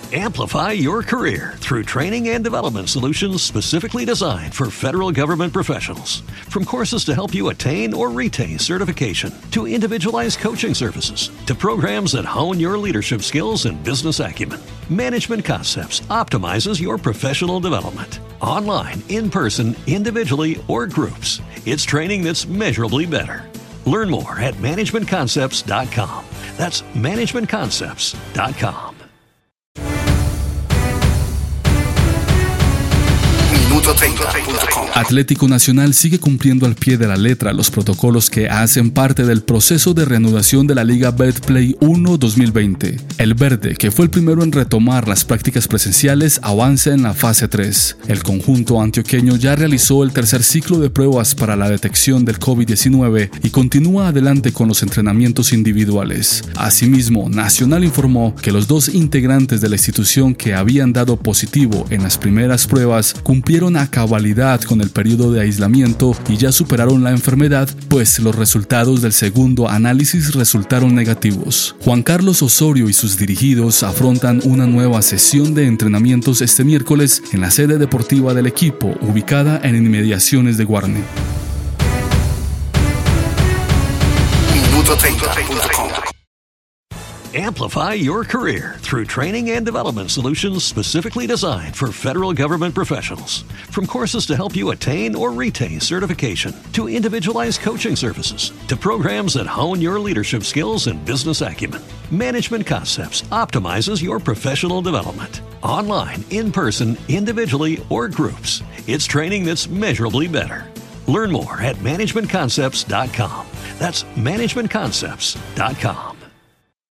Amplify your career through training and development solutions specifically designed for federal government professionals. From courses to help you attain or retain certification, to individualized coaching services, to programs that hone your leadership skills and business acumen, Management Concepts optimizes your professional development. Online, in person, individually, or groups, it's training that's measurably better. Learn more at managementconcepts.com. That's managementconcepts.com. Atlético Nacional sigue cumpliendo al pie de la letra los protocolos que hacen parte del proceso de reanudación de la Liga Betplay 1 2020. El verde, que fue el primero en retomar las prácticas presenciales, avanza en la fase 3. El conjunto antioqueño ya realizó el tercer ciclo de pruebas para la detección del COVID-19 y continúa adelante con los entrenamientos individuales. Asimismo, Nacional informó que los 2 integrantes de la institución que habían dado positivo en las primeras pruebas cumplieron a cabalidad con el periodo de aislamiento y ya superaron la enfermedad, pues los resultados del segundo análisis resultaron negativos. Juan Carlos Osorio y sus dirigidos afrontan una nueva sesión de entrenamientos este miércoles en la sede deportiva del equipo, ubicada en inmediaciones de Guarne. Amplify your career through training and development solutions specifically designed for federal government professionals. From courses to help you attain or retain certification, to individualized coaching services, to programs that hone your leadership skills and business acumen, Management Concepts optimizes your professional development. Online, in person, individually, or groups, it's training that's measurably better. Learn more at managementconcepts.com. That's managementconcepts.com.